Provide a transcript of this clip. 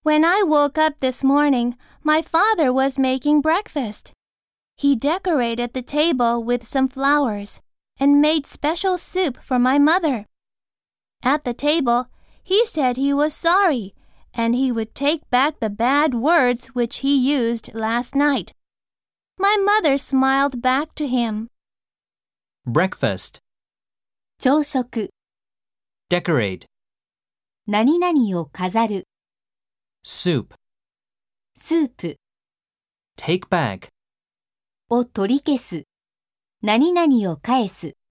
When I woke up this morning, my father was making breakfast. He decorated the table with some flowers and made special soup for my mother. At the table, he said he was sorry and he would take back the bad words which he used last night. My mother smiled back to him. Breakfast, 朝食、 decorate, 何々を飾る、 soup, スープ take back. を取り消す、何々を返す。